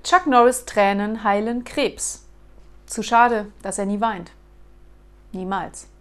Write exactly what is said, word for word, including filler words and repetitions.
Chuck Norris' Tränen heilen Krebs. Zu schade, dass er nie weint. Niemals.